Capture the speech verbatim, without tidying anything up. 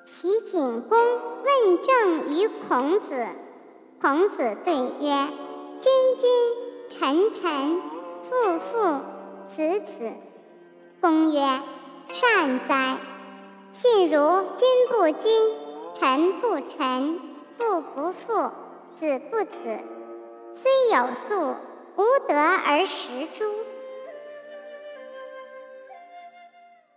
齐景公问政于孔子，孔子对曰：君君，臣臣，父父，子子。公曰：善哉！信如君不君，臣不臣，父不父，子不子，虽有粟，无德而食诸。